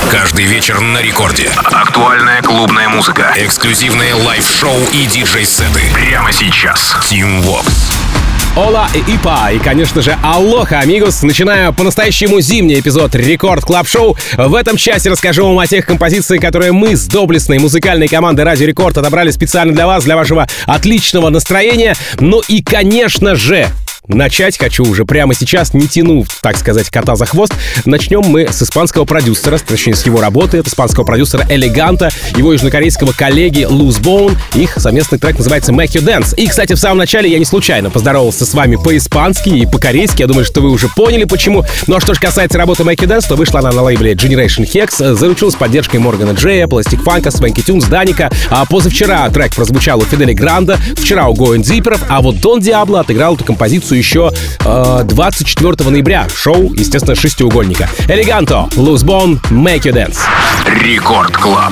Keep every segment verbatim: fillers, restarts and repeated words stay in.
Каждый вечер на рекорде. Актуальная клубная музыка, эксклюзивные лайв-шоу и диджей-сеты. Прямо сейчас. Team Vox. Ола и Ипа, и, конечно же, алоха, амигос. Начинаю по-настоящему зимний эпизод Рекорд Клаб Шоу. В этом часе расскажу вам о тех композициях, которые мы с доблестной музыкальной командой Радио Рекорд отобрали специально для вас, для вашего отличного настроения. Ну и, конечно же, начать хочу уже прямо сейчас, не тяну, так сказать, кота за хвост. Начнем мы с испанского продюсера, точнее, с его работы, от испанского продюсера Элеганта, его южнокорейского коллеги Loose Bone. Их совместный трек называется Make You Dance. И, кстати, в самом начале я не случайно поздоровался с вами по-испански и по-корейски. Я думаю, что вы уже поняли, почему. Ну а что же касается работы Make You Dance, то вышла она на лейбле Generation Hex, заручилась поддержкой Моргана Джея, Plastic Funk, Swanky Tunes, Даника. А позавчера трек прозвучал у Фидели Гранда, вчера у Going Deeper, а вот Дон Диабло отыграл эту композицию еще э, двадцать четвёртого ноября. Шоу, естественно, шестиугольника. Элеганто, Loose Bone, Make You Dance. Рекорд Клаб.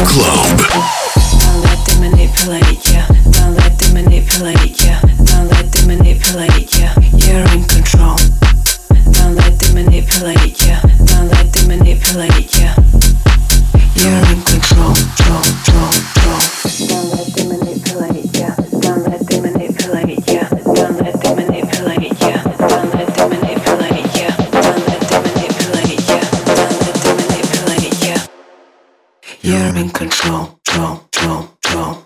Club. Don't let them manipulate you. Don't let them manipulate you. Don't let them manipulate you. You're in control. Don't let them manipulate you. Don't let them manipulate you. You're in control. Control, control, control. Don't let them manipulate you. Don't let them manipulate you. Don't let them manipulate you. Don't let them manipulate you. Don't let them manipulate you. Don't let them manipulate you. You're in control. Control, control, control.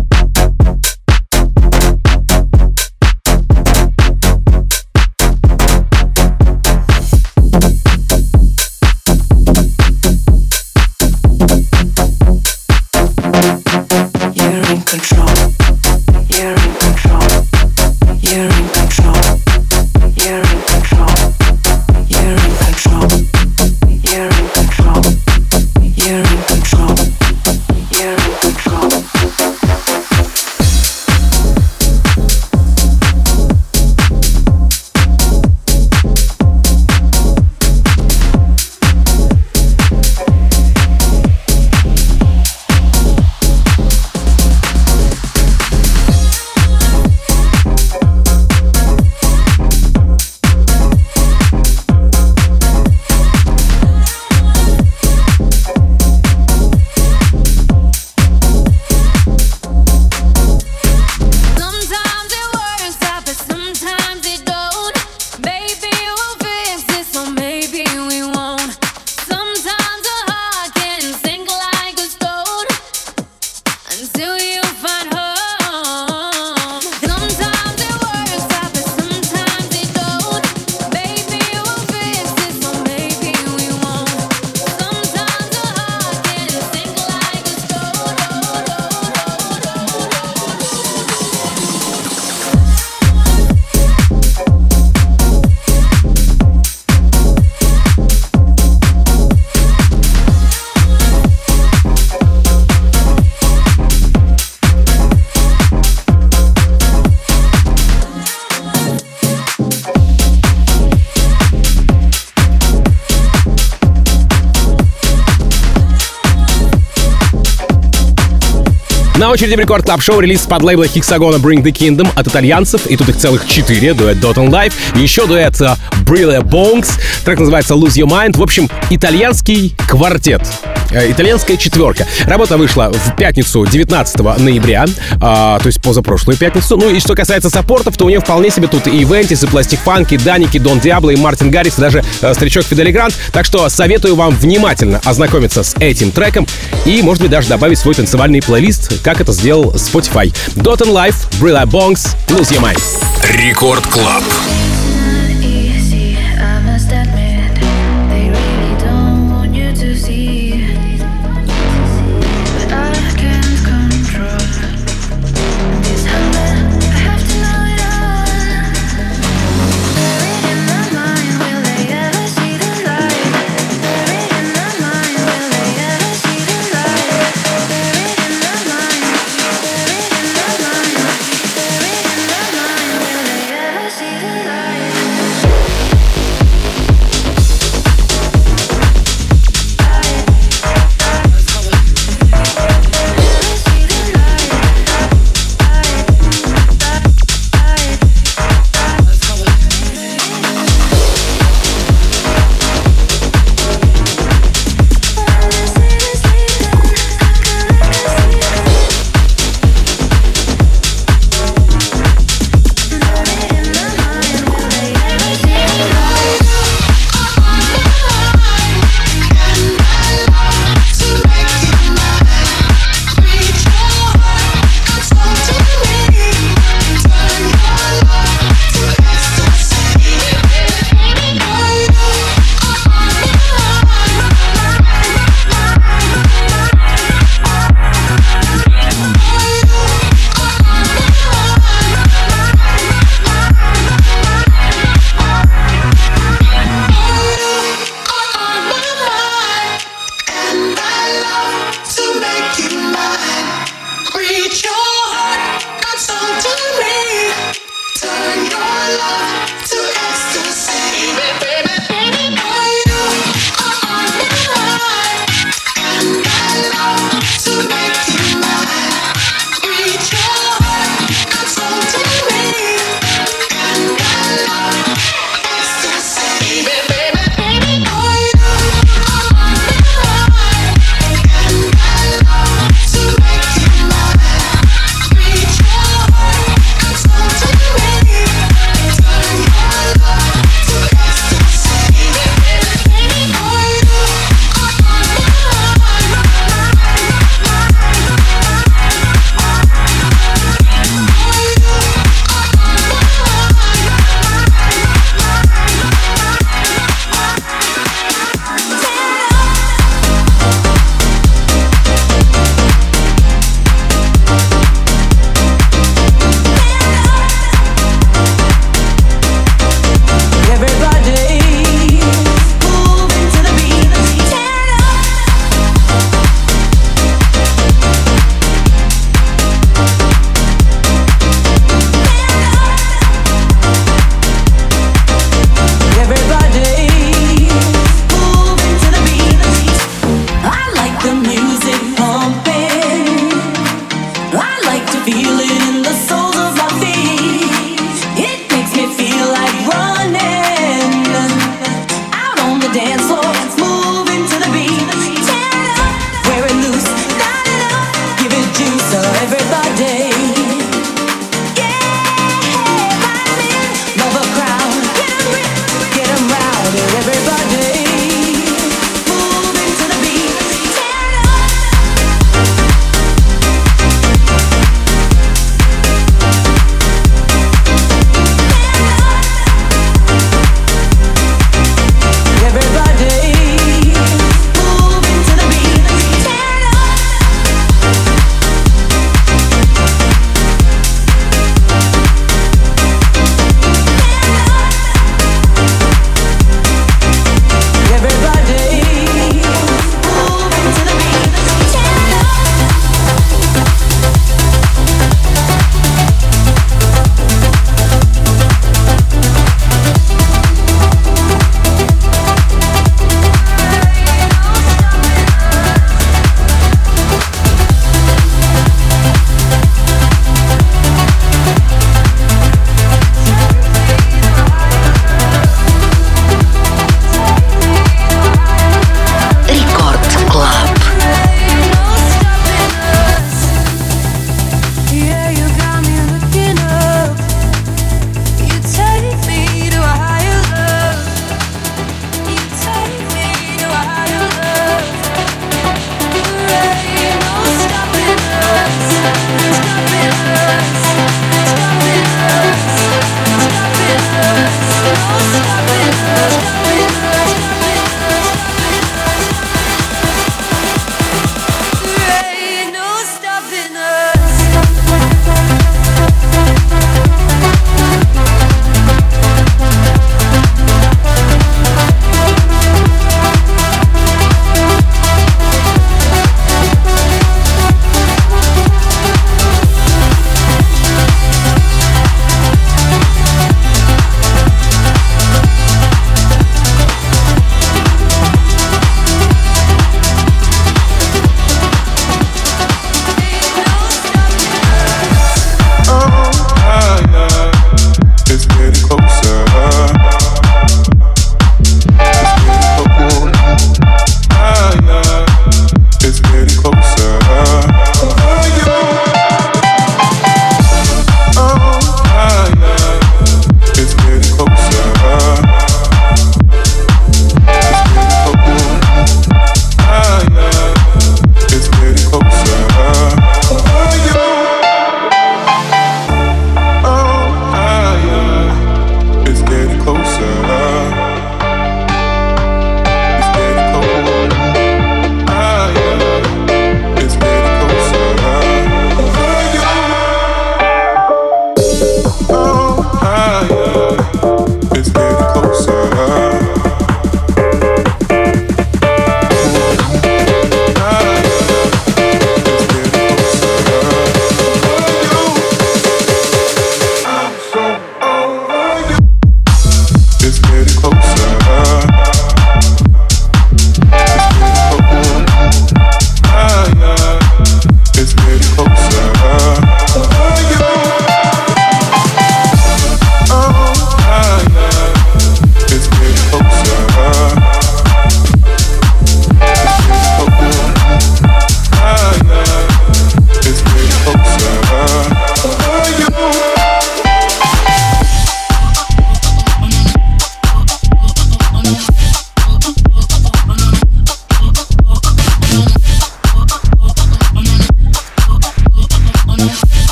На очереди в Рекорд Клаб Шоу релиз под лейбла Hexagon Bring the Kingdom от итальянцев. И тут их целых четыре. Дуэт Dot and Life. И еще дуэт Brille Bongs. Трек называется Lose Your Mind. В общем, итальянский квартет. Э, итальянская четверка. Работа вышла в пятницу девятнадцатого ноября. Э, то есть позапрошлую пятницу. Ну и что касается саппортов, то у нее вполне себе тут и Вентис, и Пластик Фанк, и Даники, Дон Диабло, и Мартин Гаррис, и даже э, старичок Фидели Грант. Так что советую вам внимательно ознакомиться с этим треком и, может быть, даже добавить свой танцевальный плейлист, как это сделал Spotify. Dot and Life, Brille Bongs, Lose Your Mind. Рекорд Клаб. To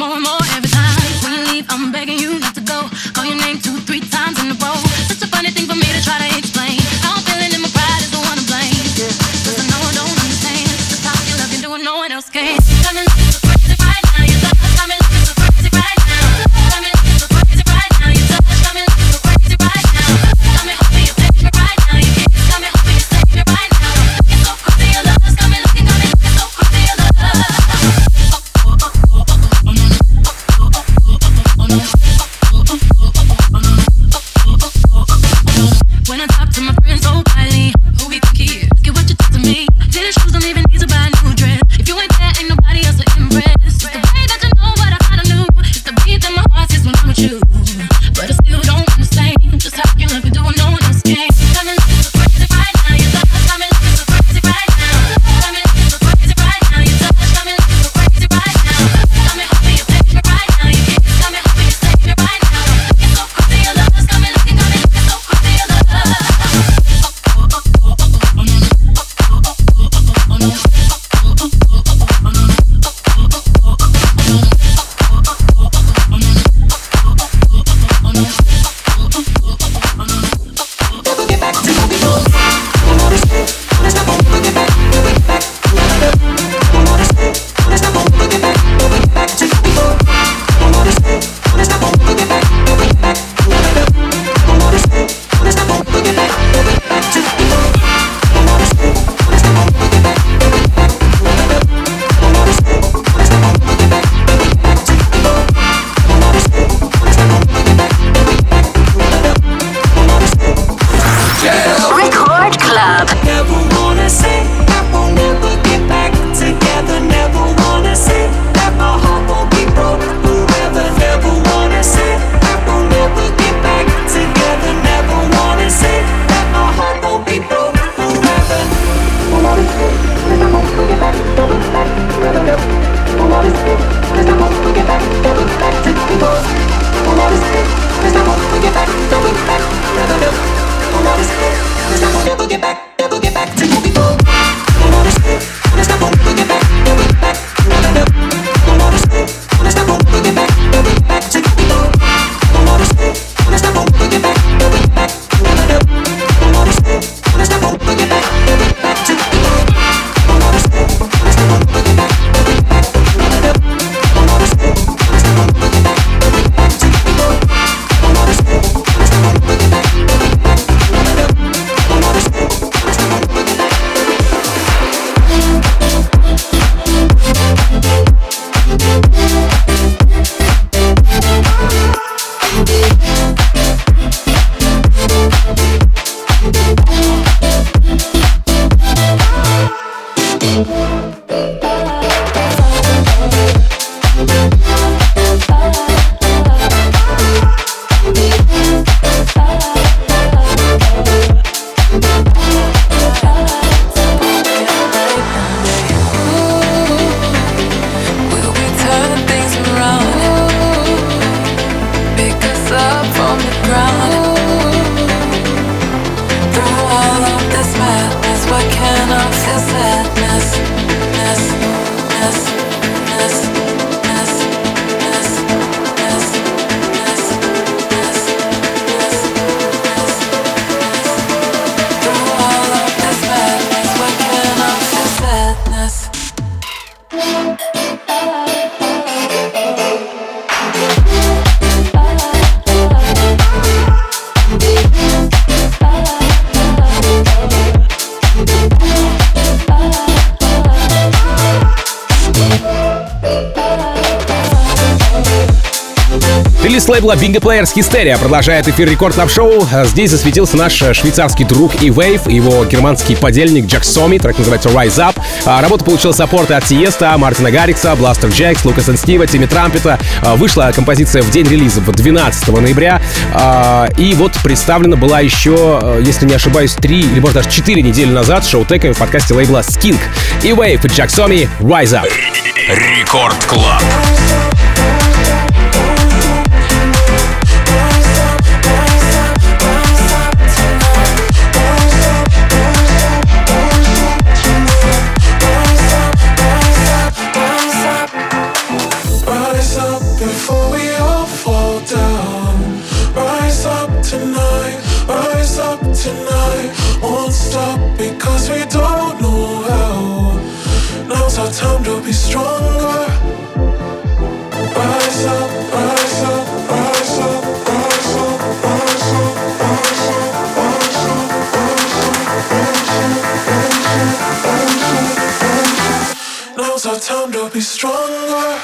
more and more every time. When you leave, I'm begging you not to go. Call your name two, three times in a row. Such a funny thing for me to try to explain. How I'm feeling in my pride is the one to blame. Cause I know I don't understand just how you love me doing no one else can. Got me looking so crazy right now. You touch, got me looking so crazy right now. Got me looking so crazy right now. You touch, got me looking so crazy right now. Got me hoping you take me right now. You kiss, got me hoping you save me right now. Looking so crazy, your love got me looking, got me looking so crazy, your love. When I talk to my friends so quietly, who we think he is? Look at what you did to me. Tennis shoes don't even need to buy a new dress. If you ain't there, ain't nobody else to impress. It's the way that you know what I kinda knew. It's the beat that my heart says when I'm with you. But I still don't understand just how you love me doing no one else can. Got me looking so crazy right now. You touch, got me looking so crazy right now. Got me looking so crazy right now. You touch, got me looking so crazy right now. Got me hoping you take me right now. You kiss, got me hoping you save me right now. Looking so crazy, your love got me looking, got me looking so crazy, your love. Релиз лейбла Bingo Players Hysteria продолжает эфир Рекорд Клаб Шоу. Здесь засветился наш швейцарский друг E-Wave, его германский подельник Jack Somi, трек называется Rise Up. Работа получила саппорты от Тиеста, Мартина Гаррикса, Бластер Джекс, Лукаса энд Стива, Тимми Трампета. Вышла композиция в день релиза, двенадцатого ноября. И вот представлена была еще, если не ошибаюсь, три или, может, даже четыре недели назад шоу-теками в подкасте лейбла Skink. E-Wave и Jack Somi, Rise Up. Рекорд Клаб. Rise up. tonight, rise up tonight. Won't stop because we don't know how. Now's our time to be stronger. Rise up, rise up, rise up, rise up, rise up, rise up, rise up, rise up. Now's our time to be stronger.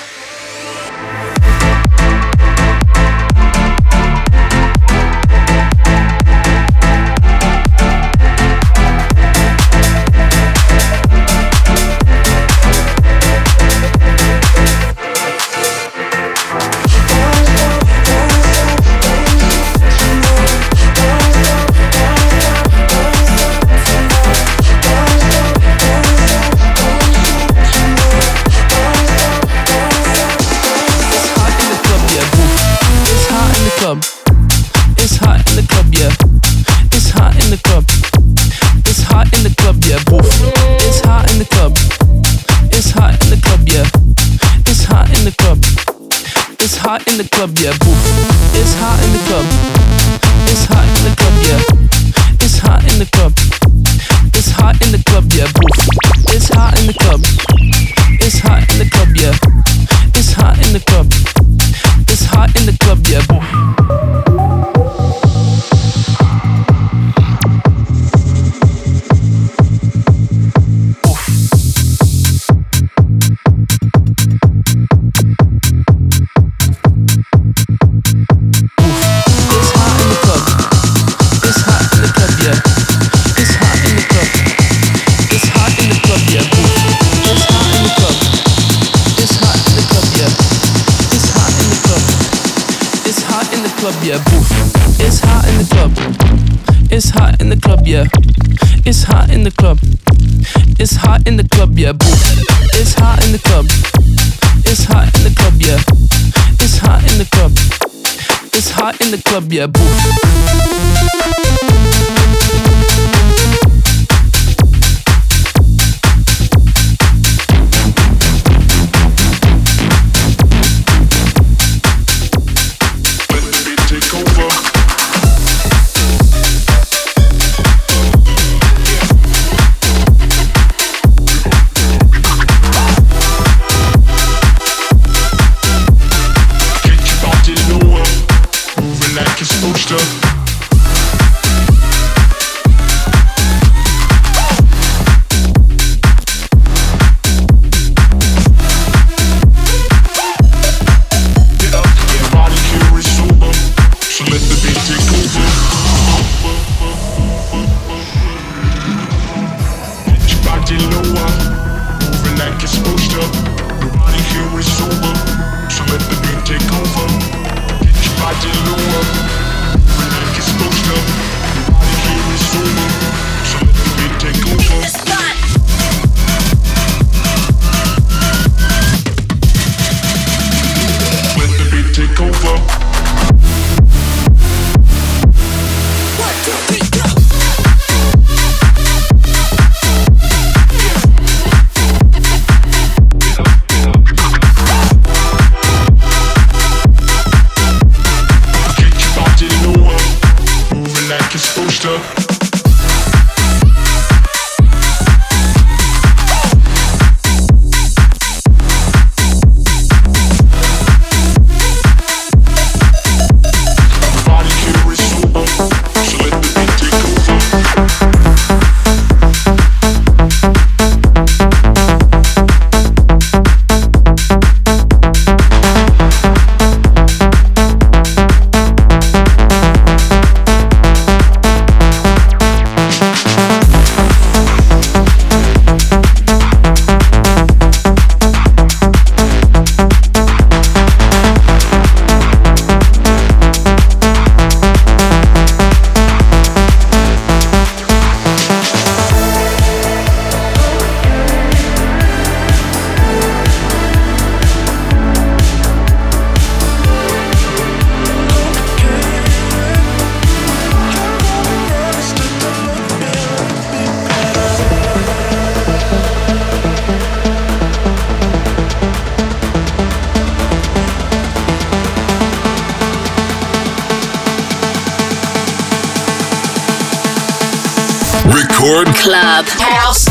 It's hot in the club, yeah. It's hot in the club. It's hot in the club, yeah. Boof. It's hot in the club. It's hot in the club, yeah. It's hot in the club. It's hot in the club, yeah. Boof. It's hot in the club. It's hot in the club, yeah. It's hot in the club. It's hot in the club, yeah. Boof. It's hot in the club. It's hot in the club, yeah. It's hot in the club. It's hot in the club, yeah. Boof. Yeah, boof. It's hot in the club. It's hot in the club, yeah. It's hot in the club. It's hot in the club, yeah, boof. It's hot in the club. It's hot in the club, yeah. It's hot in the club. It's hot in the club, yeah, boof. Record Club House.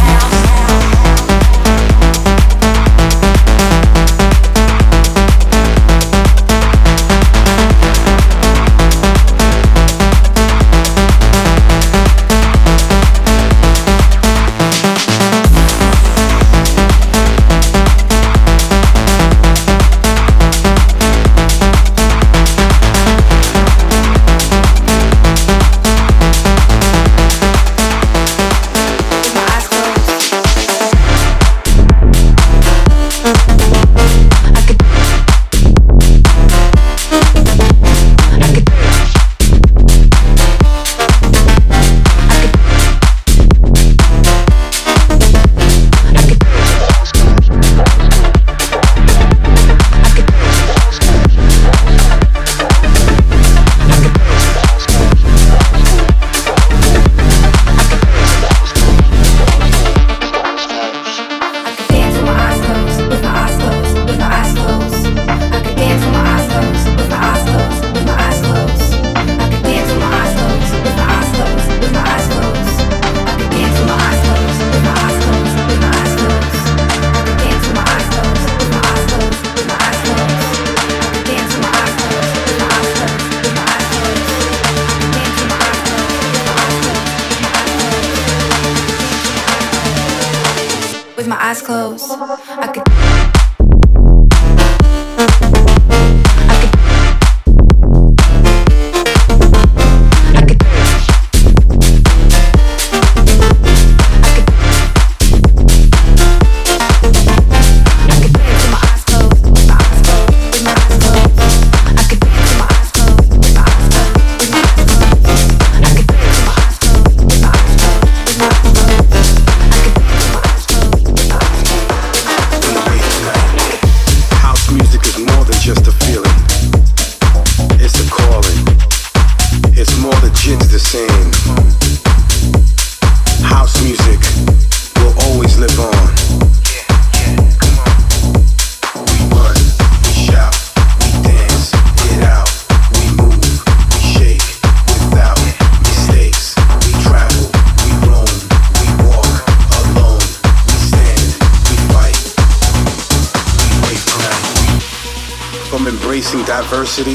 Diversity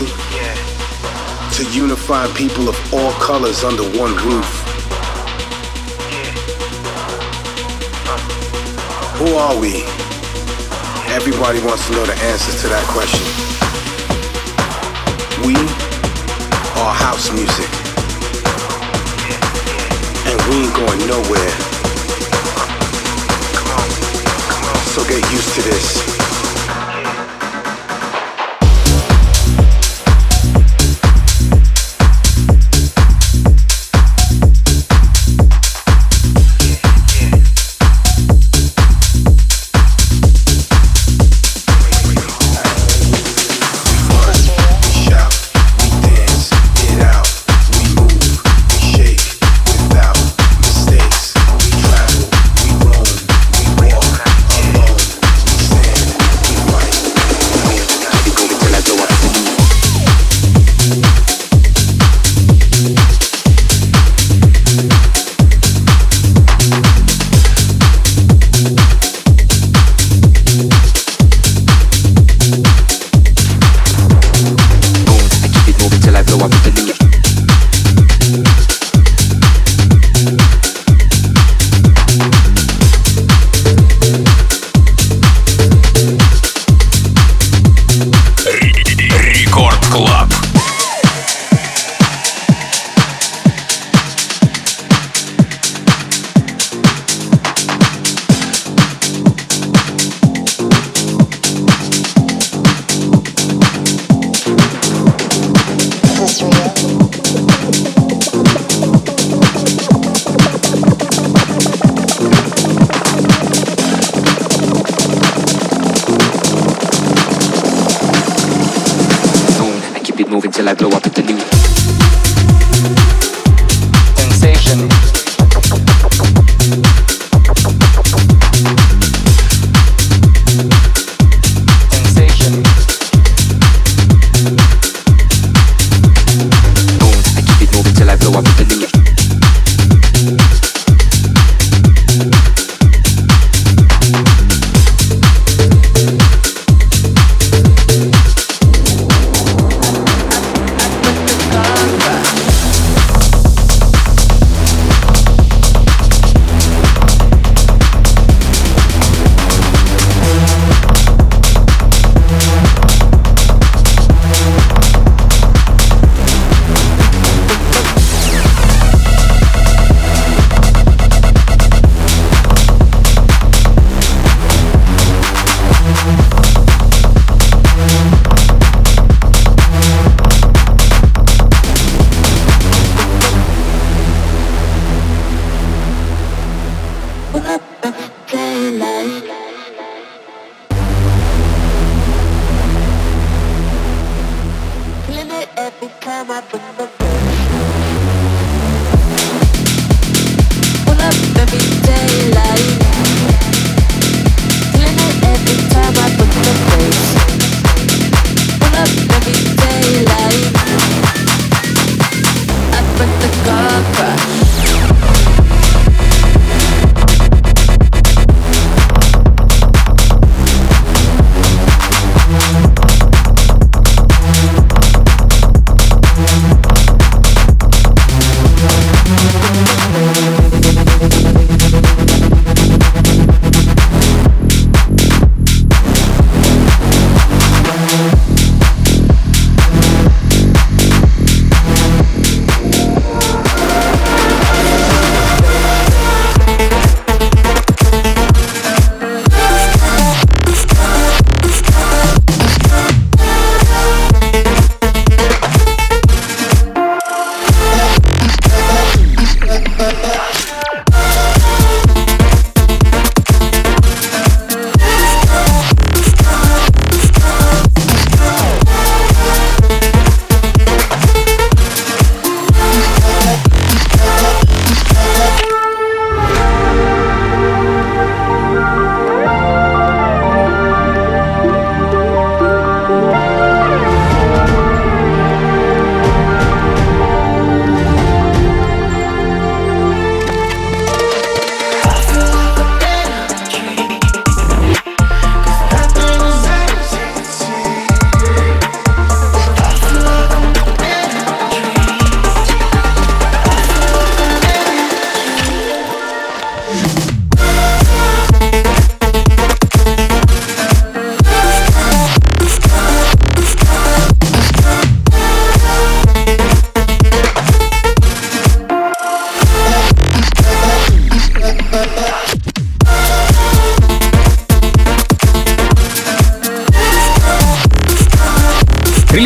to unifying people of all colors under one roof. Who are we? Everybody wants to know the answers to that question. We are house music, and we ain't going nowhere. So get used to this. Till I blow up with the new sensation. Sensation. Boom, I keep it moving till I blow up with the new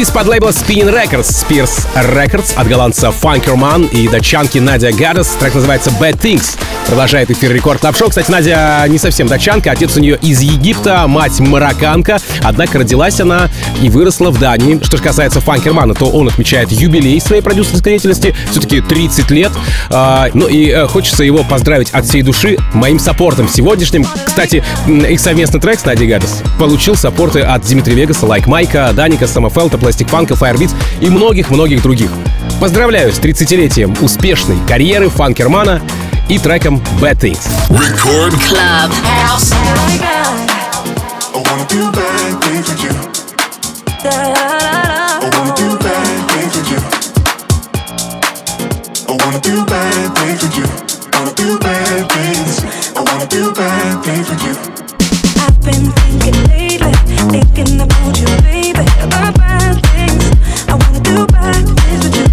Релиз под лейбл Spinning Records, Spears Records от голландца Funkerman и датчанки Надя Гадес. Трек называется Bad Things. Продолжает эфир Рекорд Клаб Шоу. Кстати, Надя не совсем датчанка, отец у нее из Египта, мать марокканка. Однако родилась она и выросла в Дании. Что же касается Funkerman, то он отмечает юбилей своей продюсерской деятельности. Все-таки тридцать лет. Ну и хочется его поздравить от всей души моим саппортом сегодняшним. Кстати, их совместный трек с Надей Гадес получил саппорты от Димитри Вегаса, Лайк Майка, Даника, Самофелта, Пластик Фанка, Firebeats и многих-многих других. Поздравляю с тридцатилетием успешной карьеры Фанкермана и треком Bad Things. Record Club House. I've been thinking lately, thinking about you, baby. About bad things. I wanna do bad things with you.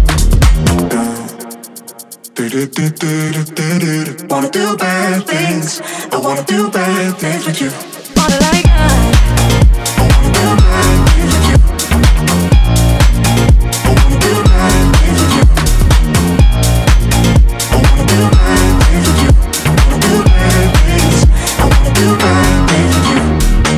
Wanna do bad things. I wanna do bad things with you. Wanna like I. I wanna do bad things with you. I wanna do bad things with you. I wanna do bad things with you. Wanna do bad things. I wanna do bad things with you.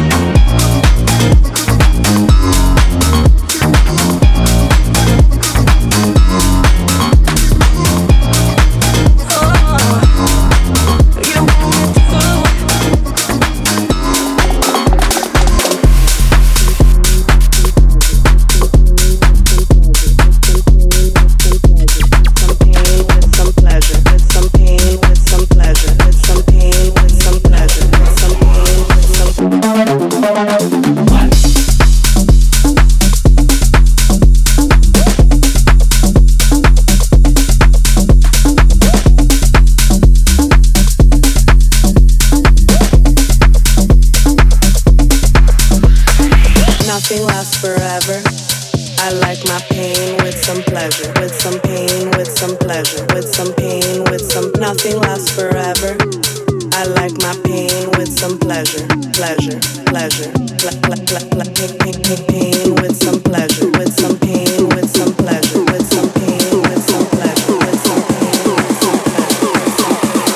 Nothing lasts forever. I like my pain with some pleasure, with some pain, with some pleasure, with some pain, with some. Nothing lasts forever. I like my pain with some pleasure, pleasure, pleasure, ple- ple- ple- ple- pain, pain, pain, pain with some pleasure, with some pain, with some pleasure, with some pain, with some pleasure, with some pain, with some pleasure, with some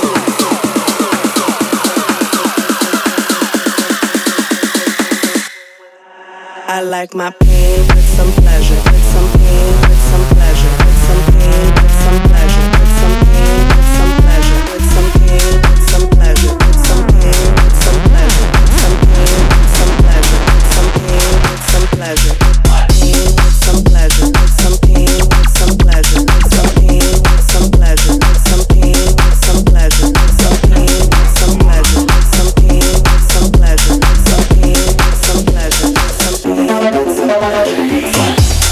I like my pain with some pleasure, with some pain, with some pleasure, with some pain, with some pleasure, with some pain, with some pleasure, with some pain, with some pleasure, with some pain, with some pleasure, with some pain, with some pleasure, with some pain, with some pleasure, pain with some pleasure, with some pain, with some pleasure, with some pain, with some pleasure, with some pain, with some pleasure, with some pain, with some pleasure, with some pain, with some pleasure, with some pain, with some pleasure, with some pain, with some pleasure.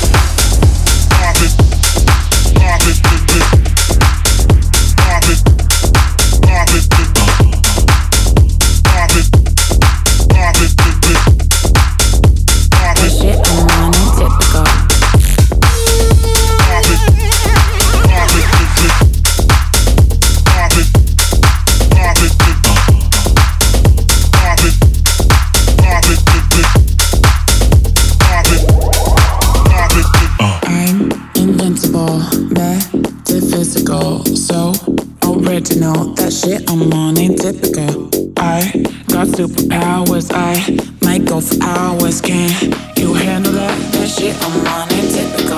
That shit I'm on ain't typical. I got superpowers, I might go for hours. Can you handle that? That shit I'm on ain't typical.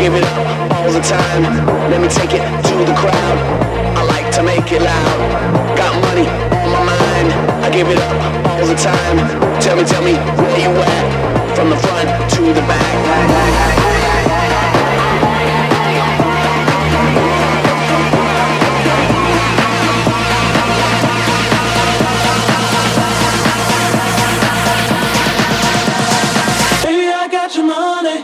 give it up all the time. Let me take it to the crowd. I like to make it loud. Got money on my mind. I give it up all the time. Tell me, tell me where you at? From the front to the back. Baby, I got your money.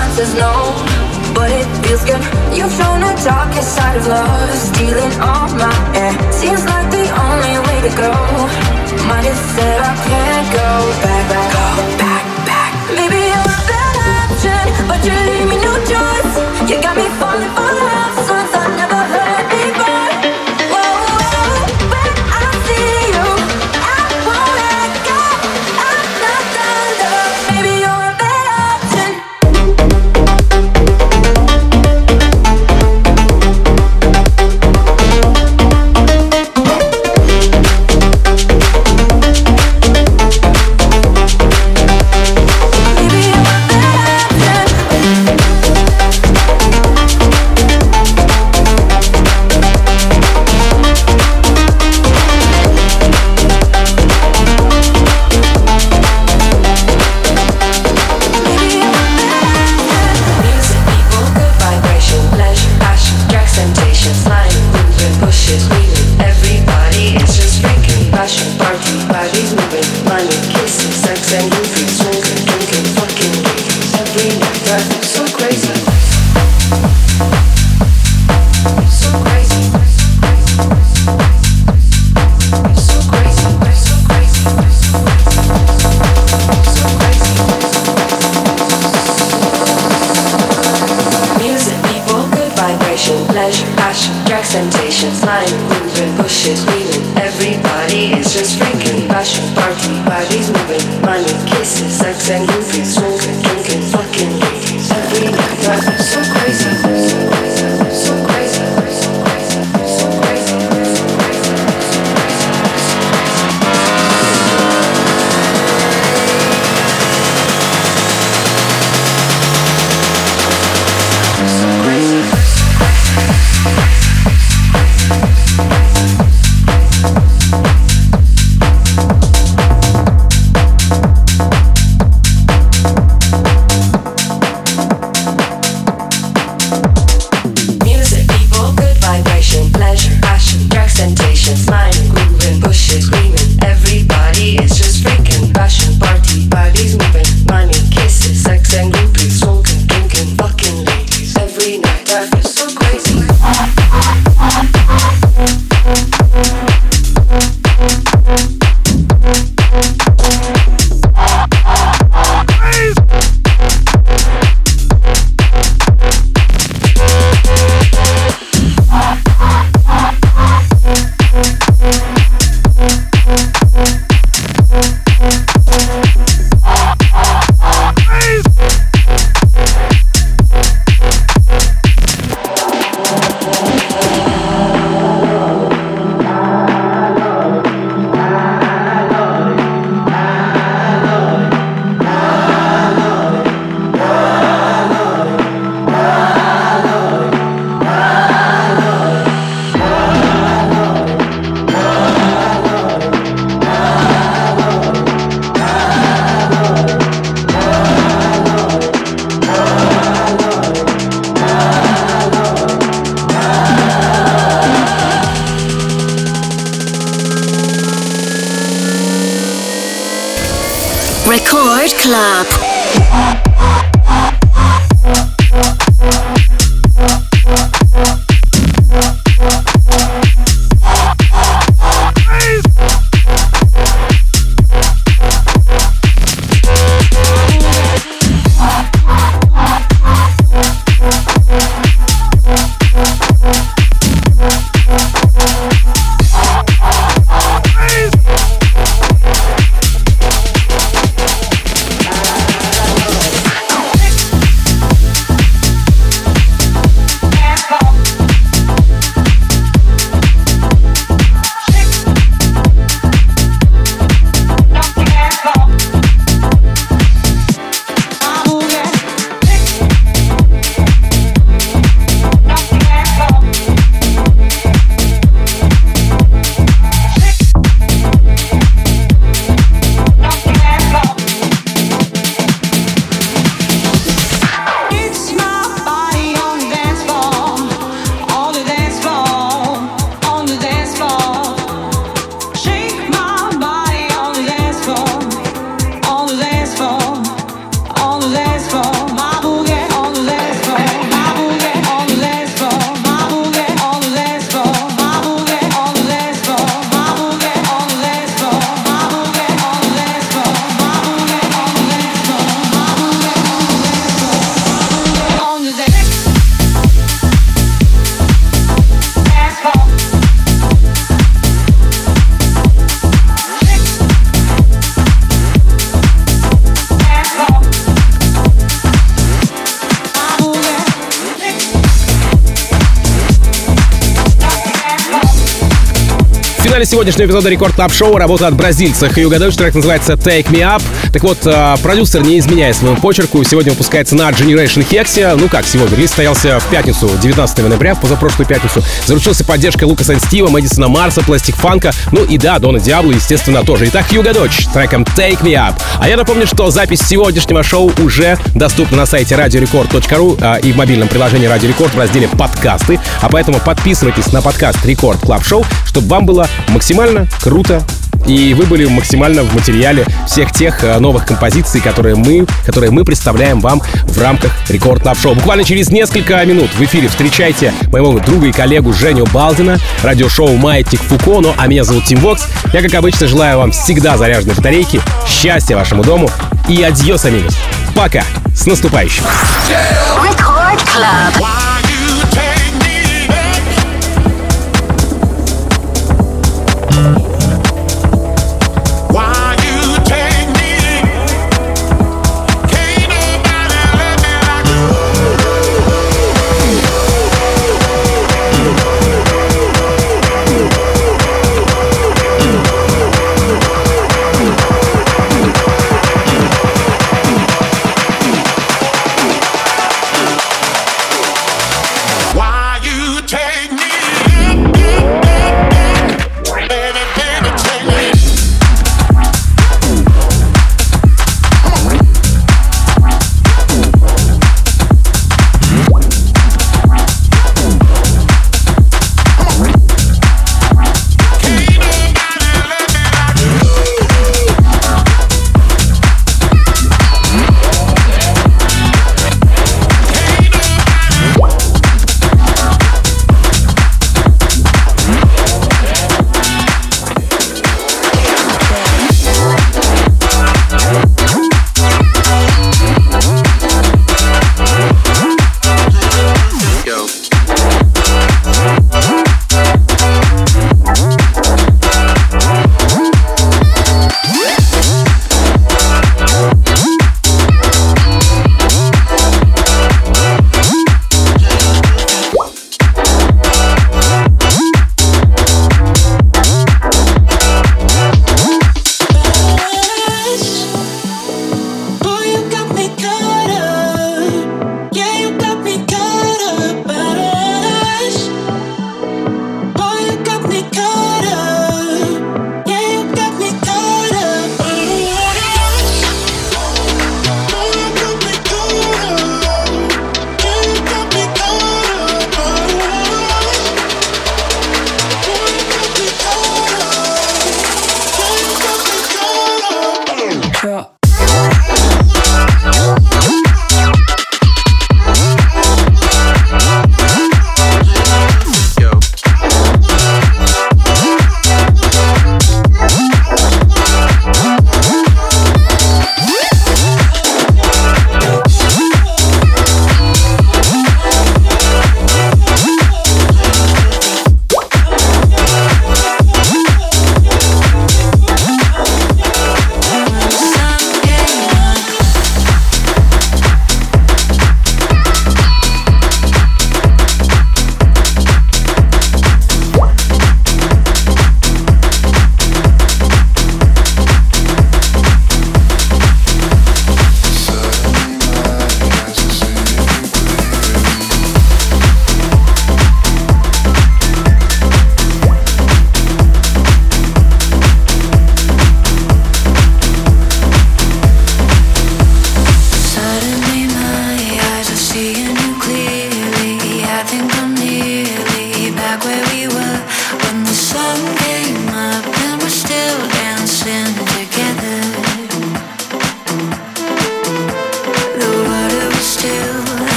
answer's no, but it feels good. You've shown the darkest side of love, stealing all my air. Seems like the only way to go. Might have said I can't go back, back, go back, back. Maybe you're a bad option, but you leave me no choice. You got me falling for love songs I never heard before. Whoa, whoa, when I see you, I won't let go. I'm not done, love. Maybe you're a bad option. Record Club. финале сегодняшнего эпизода Рекорд Клаб Шоу работа от бразильца Хьюго Дойч. Трек называется Take Me Up. Так вот, продюсер, не изменяя своему почерку, сегодня выпускается на Generation Hex. Ну как сегодня? Релиз состоялся в пятницу, девятнадцатого ноября, в позапрошлую пятницу. Заручился поддержкой Лукаса энд Стива, Мэдисона Марса, Пластик Фанка, ну и да, Дона Диабло, естественно, тоже. Итак, Хьюго Дойч с треком Take Me Up. А я напомню, что запись сегодняшнего шоу уже доступна на сайте радиорекорд точка ру а, и в мобильном приложении Радио Рекорд в разделе «Подкасты». А поэтому подписывайтесь на подкаст Рекорд Клаб Шоу, чтобы вам было максимально круто и вы были максимально в материале всех тех новых композиций, которые мы, которые мы представляем вам в рамках Рекорд Клаб Шоу. Буквально через несколько минут в эфире встречайте моего друга и коллегу Женю Балдина, радиошоу «Маятник Фуко». Ну, а меня зовут Тим Вокс. Я, как обычно, желаю вам всегда заряженной батарейки, счастья вашему дому и адьос, амигос. Пока! С наступающим! Yeah.